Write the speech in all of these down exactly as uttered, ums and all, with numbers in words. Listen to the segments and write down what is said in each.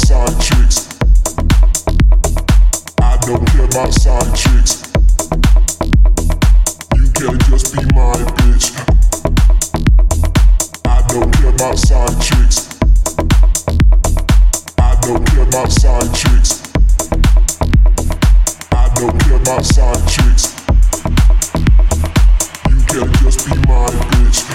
side chicks. I don't care about side chicks. You can just be my bitch. I don't care about side chicks. I don't care about side chicks. I don't care about side chicks. You can just be my bitch.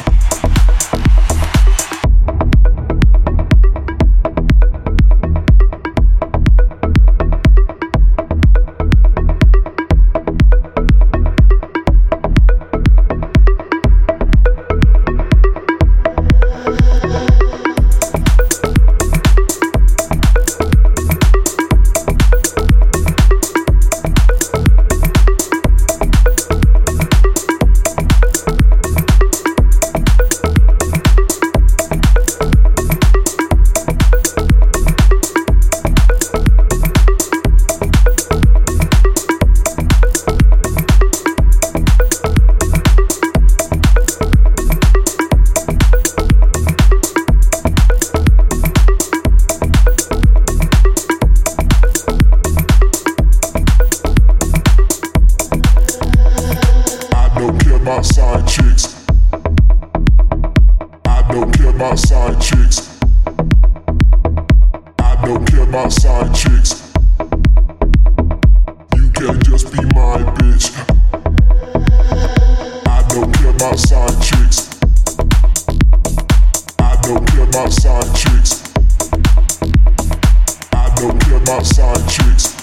About side chicks. I don't care about side chicks. I don't care about side chicks. You can just be my bitch. I don't care about side chicks. I don't care about side chicks. I don't care about side chicks.